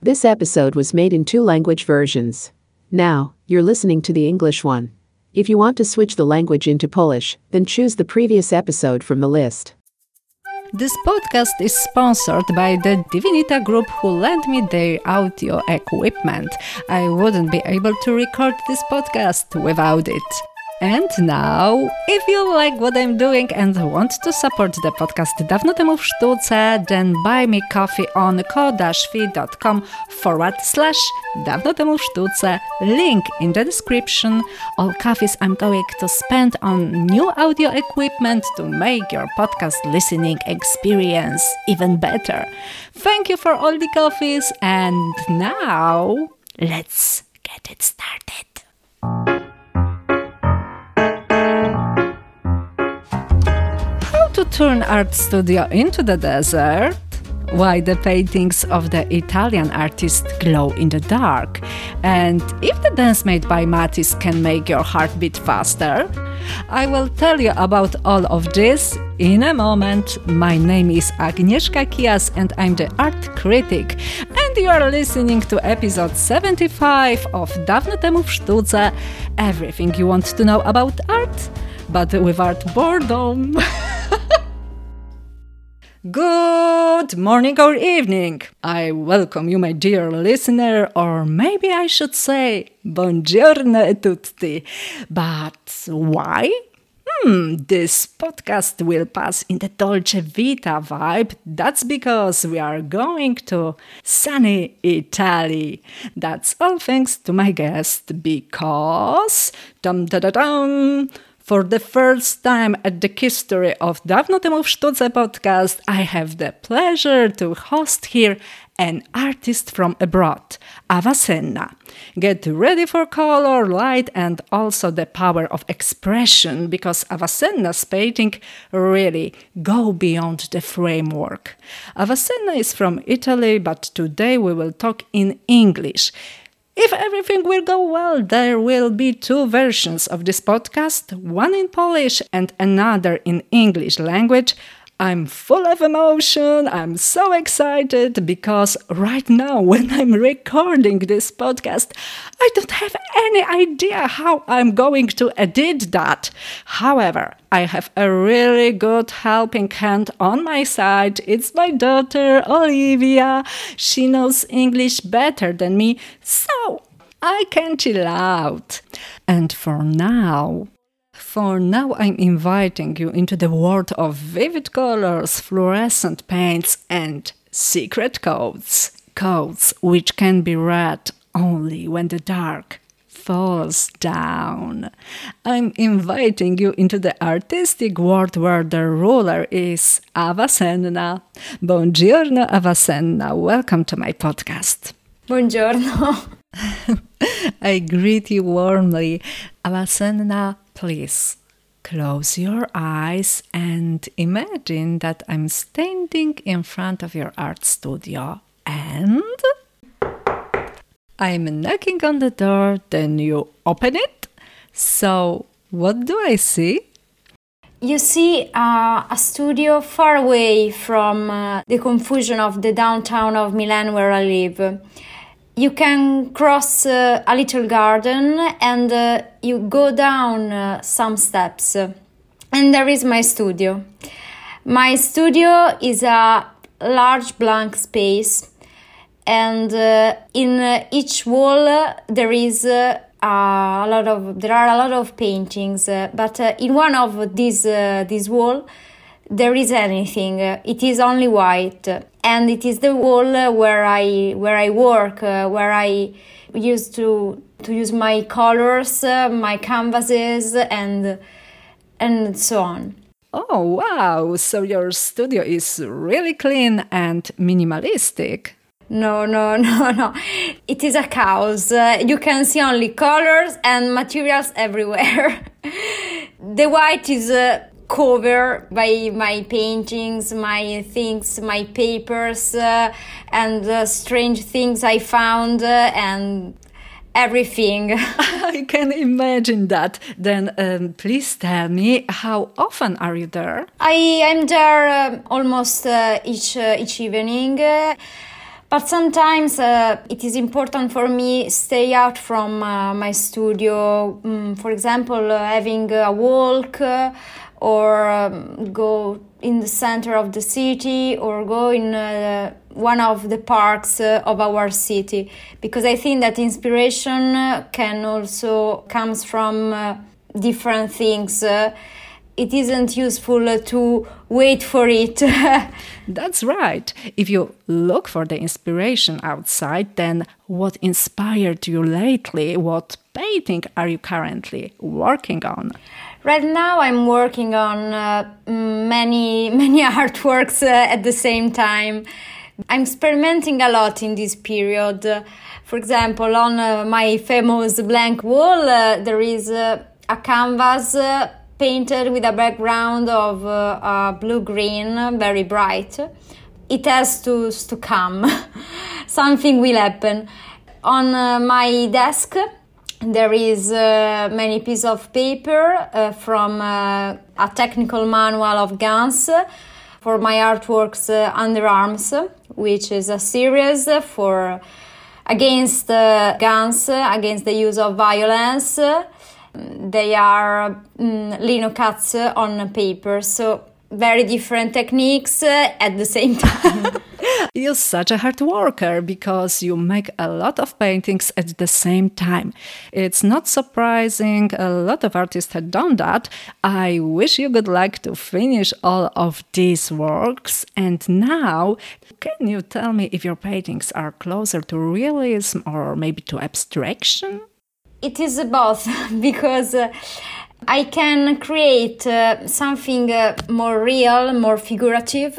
This episode was made in 2 language versions. Now, you're listening to the English one. If you want to switch the language into Polish, then choose the previous episode from the list. This podcast is sponsored by the Divinita Group, who lent me their audio equipment. I wouldn't be able to record this podcast without it. And now, if you like what I'm doing and want to support the podcast Dawno temu w sztuce, then buy me coffee on ko-fi.com/Dawno temu w sztuce. Link in the description. All coffees I'm going to spend on new audio equipment to make your podcast listening experience even better. Thank you for all the coffees, and now, let's get it started. To turn art studio into the desert? Why the paintings of the Italian artist glow in the dark? And if the dance made by Matisse can make your heart beat faster? I will tell you about all of this in a moment. My name is Agnieszka Kijas and I'm the art critic. And you are listening to episode 75 of Dawno temu w sztuce. Everything you want to know about art, but without boredom. Good morning or evening. I welcome you, my dear listener, or maybe I should say buongiorno tutti. But why? This podcast will pass in the Dolce Vita vibe. That's because we are going to sunny Italy. That's all thanks to my guest, because for the first time at the history of Dawno temu w sztuce podcast, I have the pleasure to host here an artist from abroad, Avicenna. Get ready for color, light, and also the power of expression, because Avicenna's painting really go beyond the framework. Avicenna is from Italy, but today we will talk in English. If everything will go well, there will be 2 versions of this podcast, one in Polish and another in English language. I'm full of emotion, I'm so excited, because right now when I'm recording this podcast, I don't have any idea how I'm going to edit that. However, I have a really good helping hand on my side. It's my daughter, Olivia. She knows English better than me, so I can chill out. And for now, I'm inviting you into the world of vivid colors, fluorescent paints, and secret codes. Codes which can be read only when the dark falls down. I'm inviting you into the artistic world where the ruler is Avicenna. Buongiorno, Avicenna. Welcome to my podcast. Buongiorno. I greet you warmly. Avicenna, please close your eyes and imagine that I'm standing in front of your art studio and I'm knocking on the door, then you open it. So, what do I see? You see a studio far away from the confusion of the downtown of Milan where I live. You can cross a little garden and you go down some steps. And there is my studio. My studio is a large blank space. And in each wall there are a lot of paintings. But in one of these wall there is anything. It is only white. And it is the wall where I work, where I used to use my colors, my canvases, and so on. Oh, wow! So your studio is really clean and minimalistic. No. It is a chaos. You can see only colors and materials everywhere. The white is covered by my paintings, my things, my papers, and strange things I found, and everything. I can imagine that. Then please tell me, how often are you there? I am there almost each evening. But sometimes it is important for me stay out from my studio. For example, having a walk or go in the center of the city or go in one of the parks of our city, because I think that inspiration can also comes from different things. It isn't useful to wait for it. That's right. If you look for the inspiration outside, then what inspired you lately? What painting are you currently working on? Right now I'm working on many artworks at the same time. I'm experimenting a lot in this period. For example, on my famous blank wall, there is a canvas painted with a background of blue-green, very bright. It has to come. Something will happen. On my desk, there is many pieces of paper from a technical manual of guns for my artworks Underarms, which is a series for against guns, against the use of violence. They are lino cuts on paper, so very different techniques at the same time. You're such a hard worker because you make a lot of paintings at the same time. It's not surprising, a lot of artists had done that. I wish you good luck to finish all of these works. And now, can you tell me if your paintings are closer to realism or maybe to abstraction? It is both, because I can create something more real, more figurative,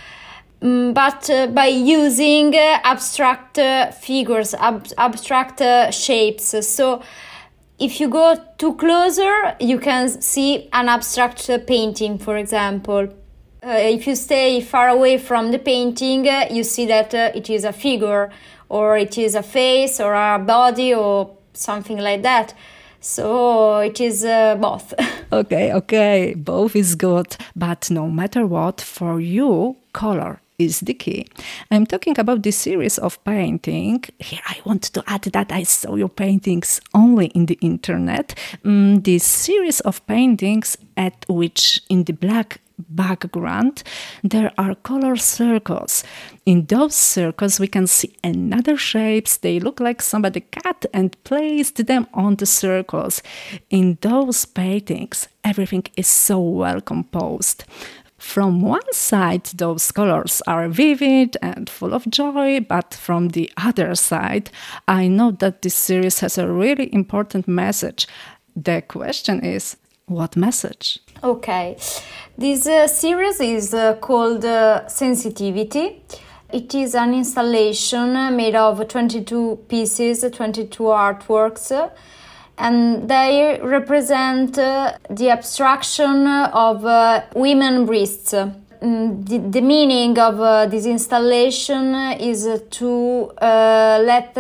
but by using abstract figures, abstract shapes. So if you go too closer, you can see an abstract painting, for example. If you stay far away from the painting, you see that it is a figure, or it is a face, or a body, or something like that. So it is both. Okay, both is good. But no matter what, for you, color is the key. I'm talking about this series of painting. Here I want to add that I saw your paintings only in the internet. This series of paintings at which in the black background there are color circles. In those circles we can see another shapes. They look like somebody cut and placed them on the circles. In those paintings everything is so well composed. From one side, those colors are vivid and full of joy, but from the other side, I know that this series has a really important message. The question is, what message? Okay, this series is called Sensitivity. It is an installation made of 22 pieces, 22 artworks, and they represent the abstraction of women breasts. The meaning of this installation is to let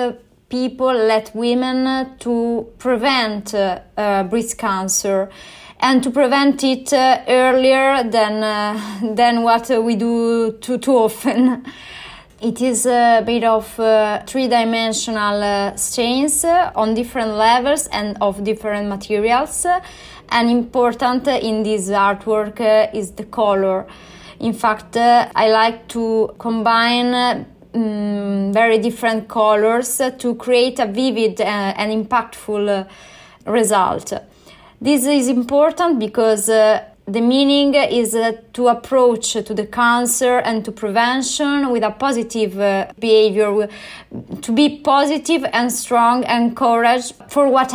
women to prevent breast cancer and to prevent it earlier than what we do too often. It is made of three-dimensional stains on different levels and of different materials. And important in this artwork is the color. In fact, I like to combine very different colors to create a vivid and impactful result. This is important because the meaning is to approach to the cancer and to prevention with a positive behavior, to be positive and strong and courage for what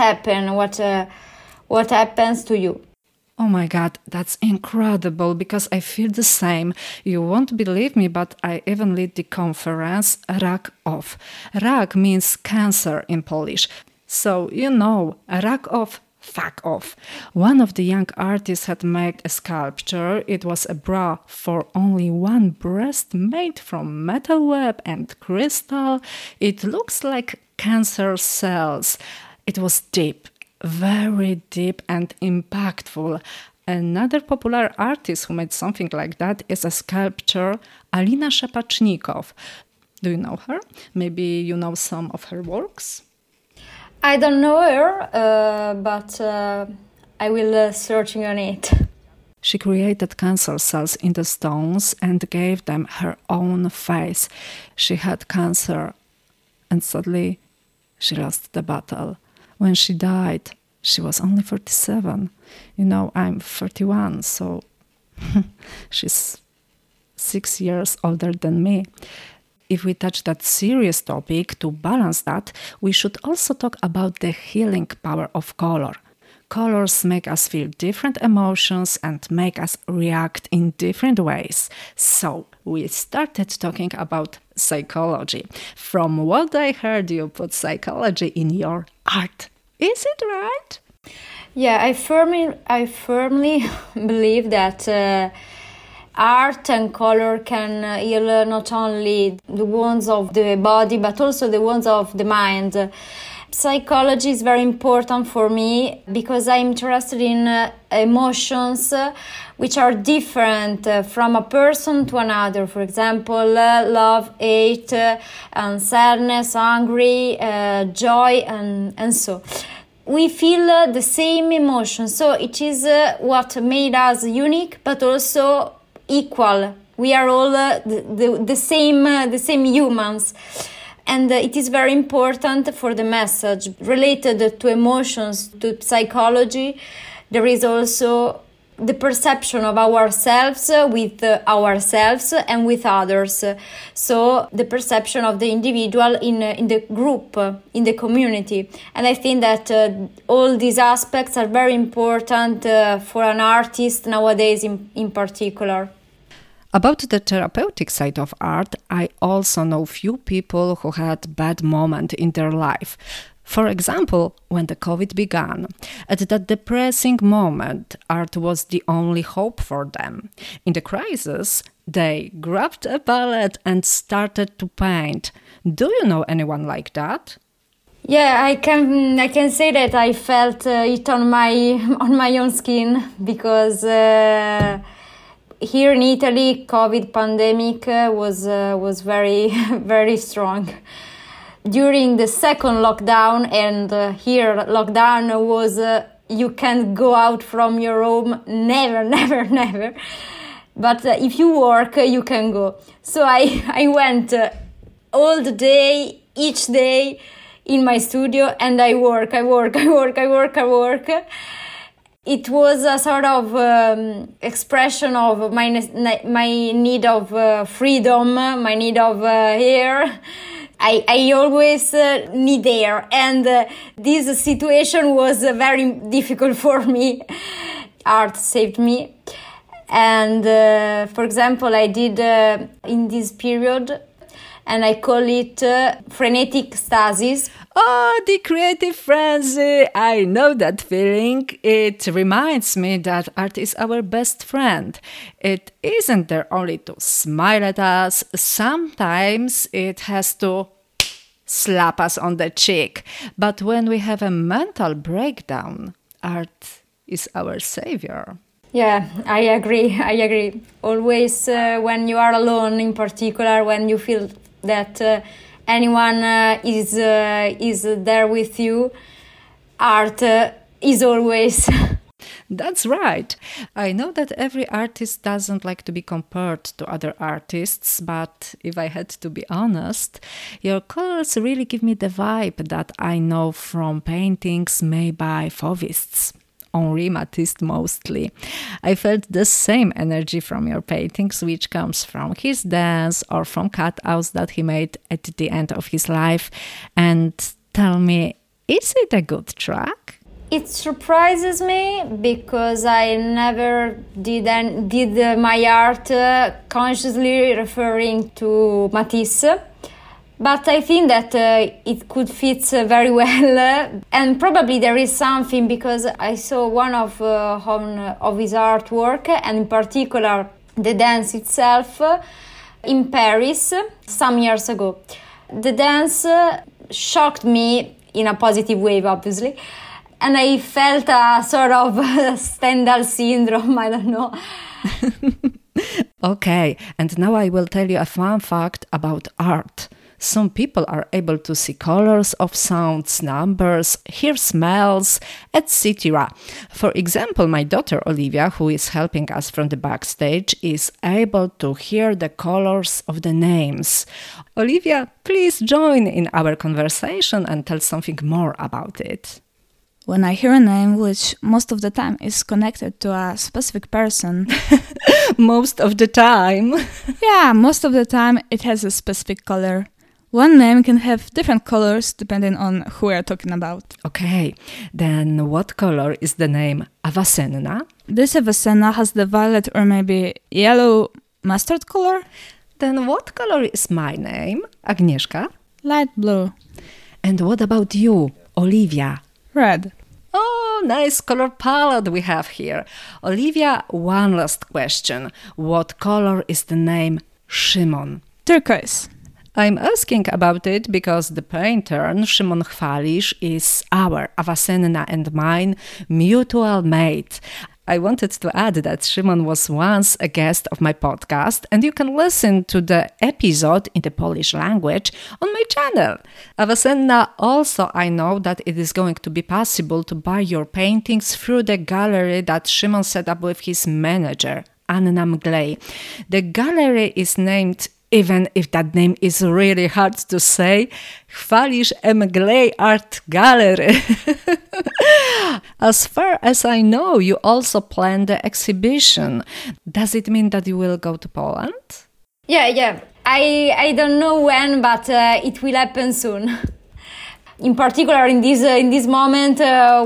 happens to you. Oh my God, that's incredible, because I feel the same. You won't believe me, but I even lead the conference Rak Off. Rak means cancer in Polish. So, Rak Off, fuck off. One of the young artists had made a sculpture. It was a bra for only one breast made from metal web and crystal. It looks like cancer cells. It was deep, very deep and impactful. Another popular artist who made something like that is a sculptor, Alina Szepacznikow. Do you know her? Maybe you know some of her works? I don't know her, but I will searching on it. She created cancer cells in the stones and gave them her own face. She had cancer and suddenly she lost the battle. When she died, she was only 47. You know, I'm 31, so she's 6 years older than me. If we touch that serious topic, to balance that, we should also talk about the healing power of color. Colors make us feel different emotions and make us react in different ways. So we started talking about psychology. From what I heard, you put psychology in your art. Is it right? Yeah, I firmly believe that art and color can heal not only the wounds of the body, but also the wounds of the mind. Psychology is very important for me because I'm interested in emotions which are different from a person to another. For example, love, hate, and sadness, angry, joy, and so. We feel the same emotion, so it is what made us unique, but also equal. We are all the same humans. And it is very important for the message related to emotions, to psychology. There is also the perception of ourselves with ourselves and with others. So the perception of the individual in the group, in the community. And I think that all these aspects are very important for an artist nowadays in particular. About the therapeutic side of art, I also know few people who had bad moments in their life. For example, when the COVID began, at that depressing moment, art was the only hope for them. In the crisis, they grabbed a palette and started to paint. Do you know anyone like that? Yeah, I can say that I felt it on my own skin because here in Italy, COVID pandemic was very very strong. During the second lockdown, and here lockdown was you can't go out from your home, never. But if you work, you can go. So I went all the day, each day in my studio, and I work. It was a sort of expression of my need of freedom, my need of air. I always need air, and this situation was very difficult for me. Art saved me. And for example, I did in this period, and I call it frenetic stasis. Oh, the creative frenzy! I know that feeling. It reminds me that art is our best friend. It isn't there only to smile at us. Sometimes it has to slap us on the cheek. But when we have a mental breakdown, art is our savior. Yeah, I agree. Always when you are alone, in particular, when you feel that anyone is there with you, art is always. That's right. I know that every artist doesn't like to be compared to other artists, but if I had to be honest, your colors really give me the vibe that I know from paintings made by Fauvists. Henri Matisse mostly. I felt the same energy from your paintings, which comes from his dance or from cutouts that he made at the end of his life. And tell me, is it a good track? It surprises me because I never did my art consciously referring to Matisse. But I think that it could fit very well, and probably there is something because I saw one of his artwork, and in particular the dance itself, in Paris some years ago. The dance shocked me in a positive way, obviously, and I felt a sort of Stendhal syndrome, I don't know. Okay, and now I will tell you a fun fact about art. Some people are able to see colors of sounds, numbers, hear smells, etc. For example, my daughter Olivia, who is helping us from the backstage, is able to hear the colors of the names. Olivia, please join in our conversation and tell something more about it. When I hear a name, which most of the time is connected to a specific person. Most of the time. Yeah, most of the time it has a specific color. One name can have different colors depending on who we are talking about. Okay, then what color is the name Avicenna? This Avicenna has the violet or maybe yellow mustard color. Then what color is my name, Agnieszka? Light blue. And what about you, Olivia? Red. Oh, nice color palette we have here. Olivia, one last question. What color is the name Szymon? Turquoise. I'm asking about it because the painter Szymon Chwalisz is our, Avicenna and mine, mutual mate. I wanted to add that Szymon was once a guest of my podcast, and you can listen to the episode in the Polish language on my channel. Avicenna, also I know that it is going to be possible to buy your paintings through the gallery that Szymon set up with his manager, Anna Mglej. The gallery is named, even if that name is really hard to say, Chwalisz Mglej Art Gallery. As far as I know, you also plan the exhibition. Does it mean that you will go to Poland? Yeah. I don't know when, but it will happen soon. In particular, in this moment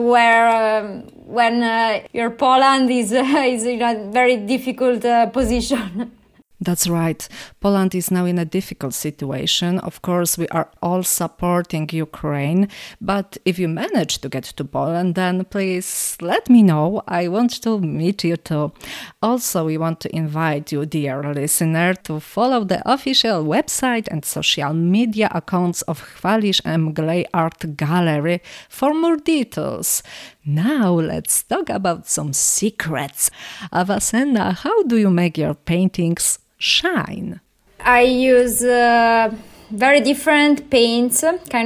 when your Poland is in a very difficult position. That's right. Poland is now in a difficult situation. Of course, we are all supporting Ukraine. But if you manage to get to Poland, then please let me know. I want to meet you too. Also, we want to invite you, dear listener, to follow the official website and social media accounts of Chwalisz Mglej Art Gallery for more details. Now let's talk about some secrets. Avicenna, how do you make your paintings shine? I use very different paints,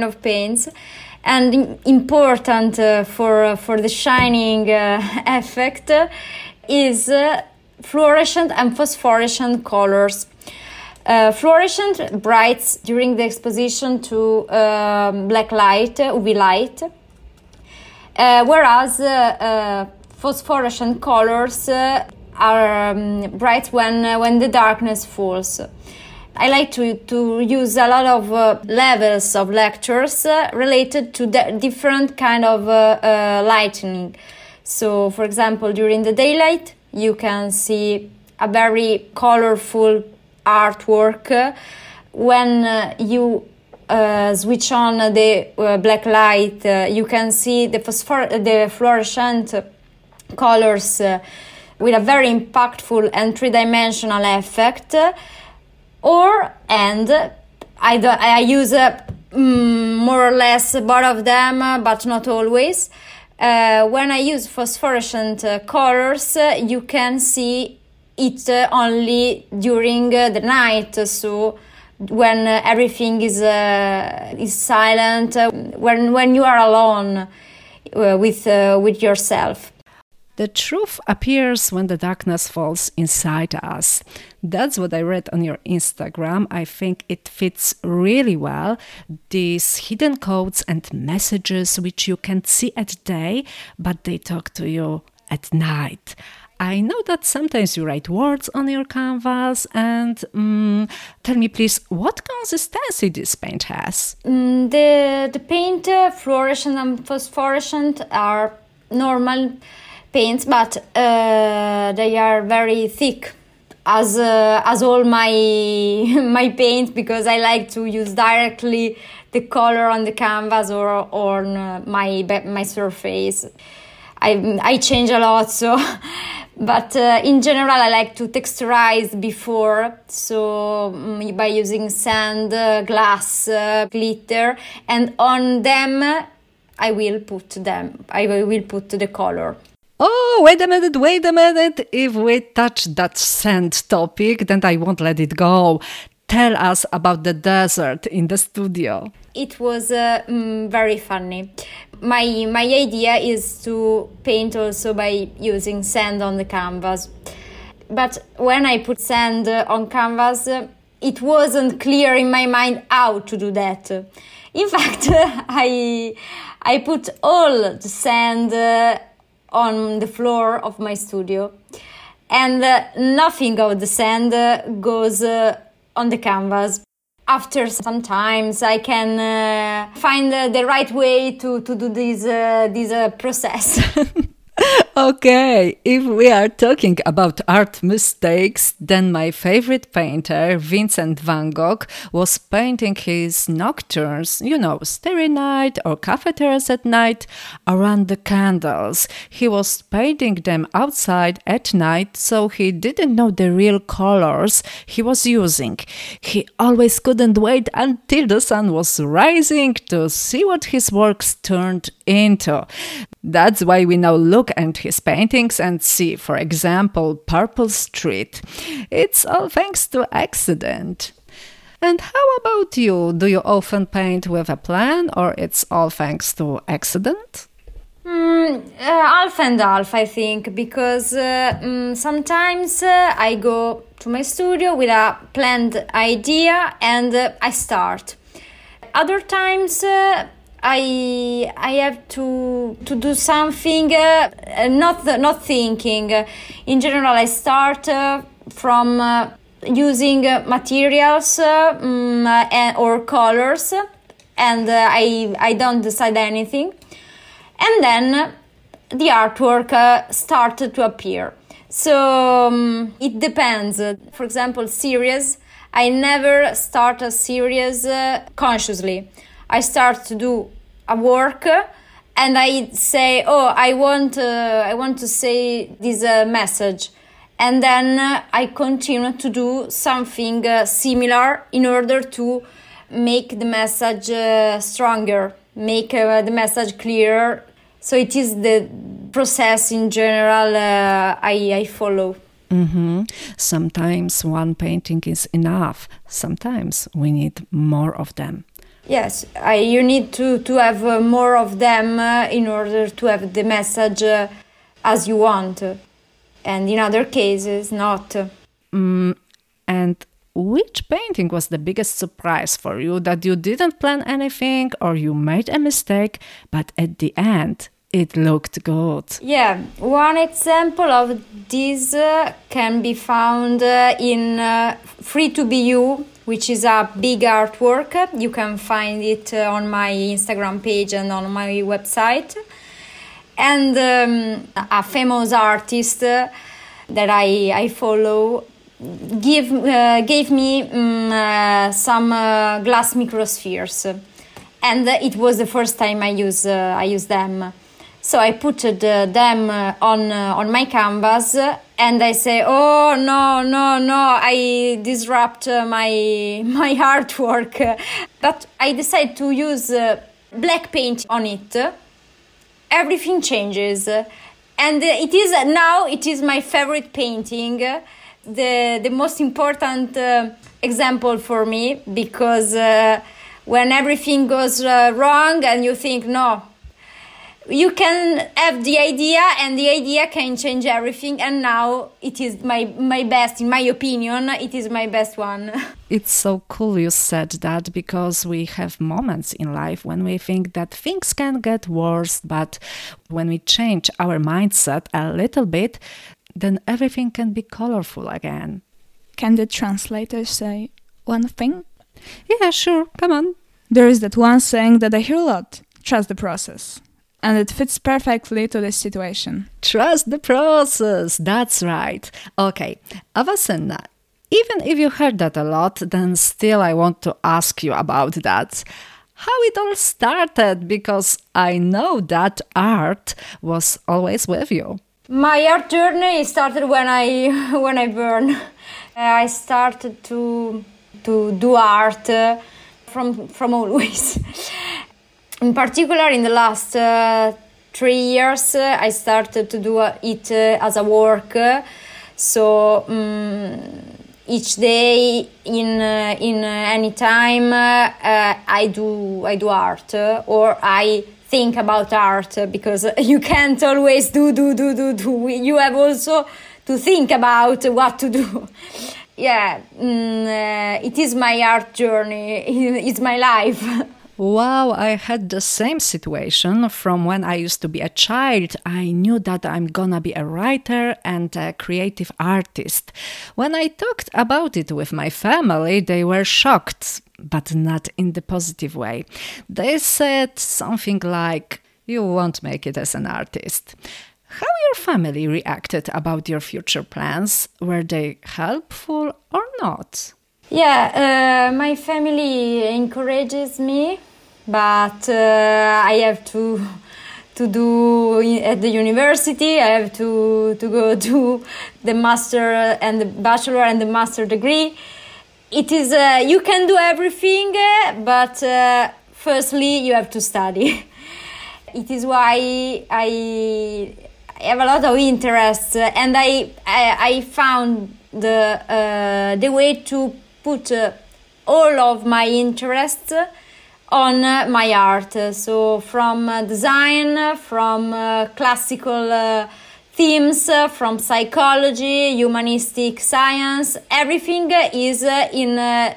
and important for the shining effect is fluorescent and phosphorescent colors. Fluorescent brights during the exposition to black light, UV light, whereas phosphorescent colors are bright when the darkness falls. I like to use a lot of levels of lectures related to the different kind of lighting. So, for example, during the daylight, you can see a very colorful artwork. When you switch on the black light, you can see the fluorescent colors with a very impactful and three-dimensional effect. I use more or less both of them, but not always. When I use phosphorescent colors, you can see it only during the night. So when everything is silent, when you are alone with yourself. The truth appears when the darkness falls inside us. That's what I read on your Instagram. I think it fits really well. These hidden codes and messages which you can't see at day, but they talk to you at night. I know that sometimes you write words on your canvas, and tell me please, what consistency this paint has? The paint, fluorescent and phosphorescent, are normal paints, but they are very thick, as all my paints, because I like to use directly the color on the canvas or on my surface. I change a lot, so but in general I like to texturize before, so by using sand, glass, glitter, and on them I will put the color. Oh, wait a minute. If we touch that sand topic, then I won't let it go. Tell us about the desert in the studio. It was very funny. My idea is to paint also by using sand on the canvas. But when I put sand on canvas, it wasn't clear in my mind how to do that. In fact, I put all the sand on the floor of my studio, and nothing of the sand goes on the canvas. After some times, I can find the right way to do this process. Okay, if we are talking about art mistakes, then my favorite painter, Vincent van Gogh, was painting his nocturnes, Starry Night or cafeterias at night, around the candles. He was painting them outside at night, so he didn't know the real colors he was using. He always couldn't wait until the sun was rising to see what his works turned into. That's why we now look at his paintings and see, for example, Purple Street. It's all thanks to accident. And how about you? Do you often paint with a plan, or it's all thanks to accident? Half and half, I think, because sometimes I go to my studio with a planned idea and I start. Other times I have to do something, not thinking. In general, I start from using materials or colors, and I don't decide anything. And then the artwork started to appear. So it depends. For example, series. I never start a series consciously. I start to do a work and I say, I want to say this message. And then I continue to do something similar in order to make the message stronger, make the message clearer. So it is the process in general I follow. Mm-hmm. Sometimes one painting is enough. Sometimes we need more of them. Yes, you need to have more of them in order to have the message as you want. And in other cases, not. And which painting was the biggest surprise for you, that you didn't plan anything or you made a mistake, but at the end it looked good? Yeah, one example of this can be found in Free to Be You, which is a big artwork. You can find it on my Instagram page and on my website. And a famous artist that I follow gave me some glass microspheres, and it was the first time I use them. So I put them on my canvas, and I say, oh no, I disrupt my artwork. But I decide to use black paint on it. Everything changes, and it is my favorite painting, the most important example for me, because when everything goes wrong and you think, no, you can have the idea and the idea can change everything, and now it is my best, in my opinion, it is my best one. It's so cool you said that, because we have moments in life when we think that things can get worse, but when we change our mindset a little bit, then everything can be colorful again. Can the translator say one thing? Yeah, sure, come on. There is that one saying that I hear a lot: trust the process. And it fits perfectly to this situation. Trust the process, that's right. Okay, Avicenna, even if you heard that a lot, then still I want to ask you about that. How it all started, because I know that art was always with you. My art journey started when I burn. I started to do art from always. In particular, in the last 3 years, I started to do it as a work. So each day, in any time, I do art, or I think about art, because you can't always do. You have also to think about what to do. Yeah, it is my art journey. It's my life. Wow, I had the same situation from when I used to be a child. I knew that I'm gonna be a writer and a creative artist. When I talked about it with my family, they were shocked, but not in the positive way. They said something like, "You won't make it as an artist." How your family reacted about your future plans? Were they helpful or not? Yeah, my family encourages me, but I have to do at the university. I have to go to the master and the bachelor and the master degree. It is you can do everything, but firstly you have to study. It is why I have a lot of interest, and I found the way to put all of my interests on my art. So from design, from classical themes, from psychology, humanistic science, everything is in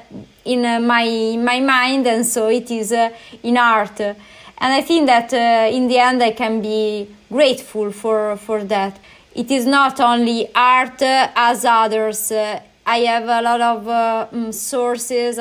my mind, and so it is in art. And I think that in the end I can be grateful for that. It is not only art as others. I have a lot of sources,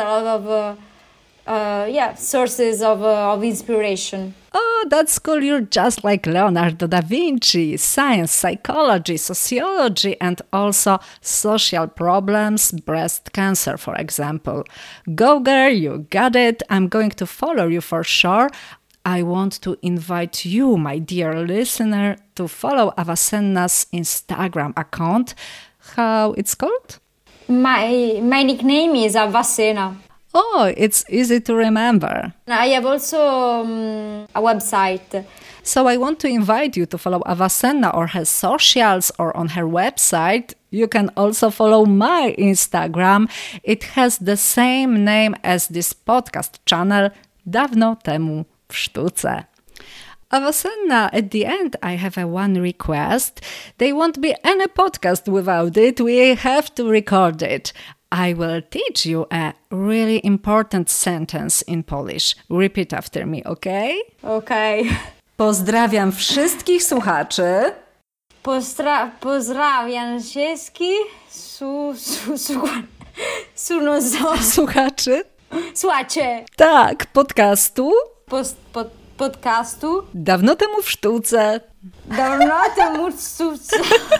sources of inspiration. Oh, that's cool. You're just like Leonardo da Vinci. Science, psychology, sociology, and also social problems, breast cancer, for example. Go girl, you got it. I'm going to follow you for sure. I want to invite you, my dear listener, to follow Avicenna's Instagram account. How it's called? My nickname is Avicenna. Oh, it's easy to remember. I have also a website. So I want to invite you to follow Avicenna or her socials or on her website. You can also follow my Instagram. It has the same name as this podcast channel, Dawno temu w sztuce. Avicenna, at the end, I have one request. There won't be any podcast without it. We have to record it. I will teach you a really important sentence in Polish. Repeat after me, okay? Okay. Pozdrawiam wszystkich słuchaczy. Pozdrawiam wszystkich Słuchaczy? Słuchacze. Tak, podcastu. Podcastu. Dawno temu w sztuce. Dawno temu w sztuce.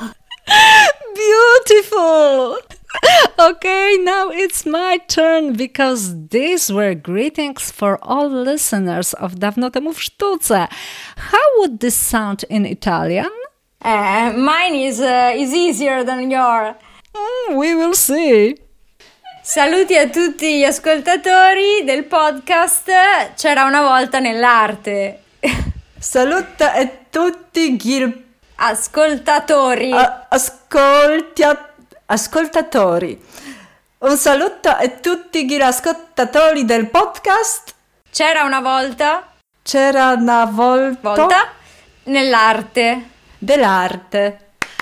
Beautiful! Okay, now it's my turn, because these were greetings for all listeners of Dawno temu w sztuce. How would this sound in Italian? Mine is easier than yours. We will see. Saluti a tutti gli ascoltatori del podcast C'era una volta nell'arte. Saluta a tutti gli ascoltatori. Ascoltatori. Un saluto a tutti gli ascoltatori del podcast. C'era una volta. C'era una volta nell'arte. Dell'arte.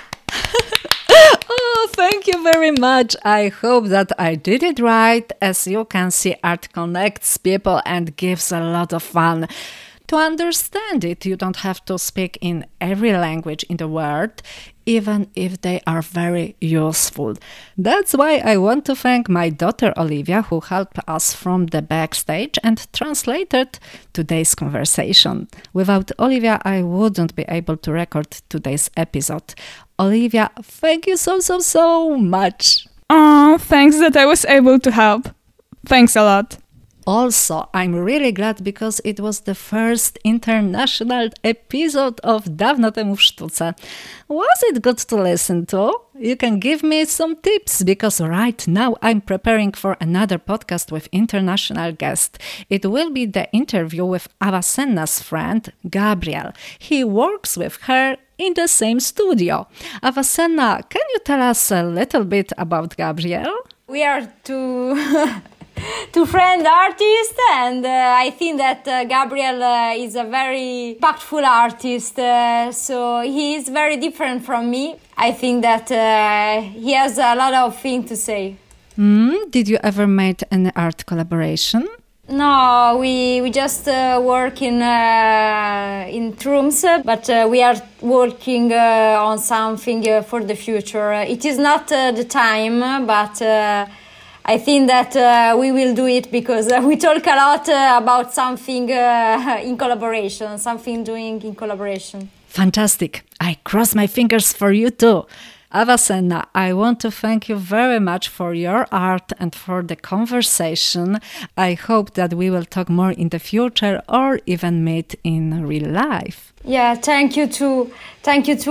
Oh, thank you very much. I hope that I did it right. As you can see, art connects people and gives a lot of fun. To understand it, you don't have to speak in every language in the world, even if they are very useful. That's why I want to thank my daughter Olivia, who helped us from the backstage and translated today's conversation. Without Olivia, I wouldn't be able to record today's episode. Olivia, thank you so much. Oh, thanks that I was able to help. Thanks a lot. Also, I'm really glad because it was the first international episode of Dawno temu w sztuce. Was it good to listen to? You can give me some tips because right now I'm preparing for another podcast with international guest. It will be the interview with Avicenna's friend, Gabriel. He works with her in the same studio. Avicenna, can you tell us a little bit about Gabriel? We are two friend artists, and I think that Gabriel is a very impactful artist, so he is very different from me. I think that he has a lot of things to say. Did you ever make an art collaboration? No, we just work in rooms, but we are working on something for the future. It is not the time, but I think that we will do it because we talk a lot about something in collaboration, something doing in collaboration. Fantastic. I cross my fingers for you too. Avicenna, I want to thank you very much for your art and for the conversation. I hope that we will talk more in the future or even meet in real life. Yeah, thank you to all. Thank you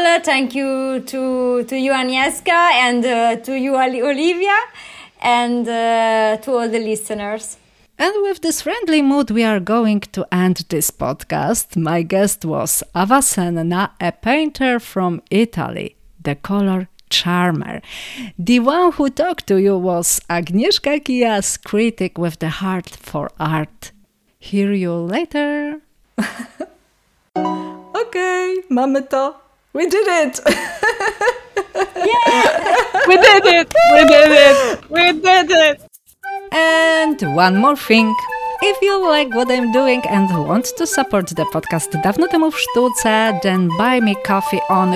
to you, Agnieszka, and to you, Olivia, and to all the listeners. And with this friendly mood, we are going to end this podcast. My guest was Avicenna, a painter from Italy, the color charmer. The one who talked to you was Agnieszka Kijas, critic with the heart for art. Hear you later. Okay, mamy to. We did it! Yeah! We did it! We did it! We did it! And one more thing. If you like what I'm doing and want to support the podcast Dawno temu w sztuce, then buy me coffee on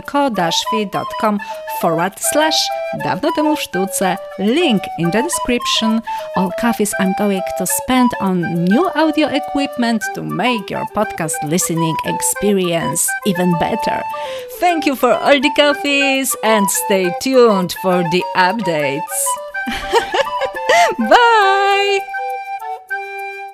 ko-fi.com/Dawno temu w sztuce. Link in the description. All coffees I'm going to spend on new audio equipment to make your podcast listening experience even better. Thank you for all the coffees and stay tuned for the updates. Bye!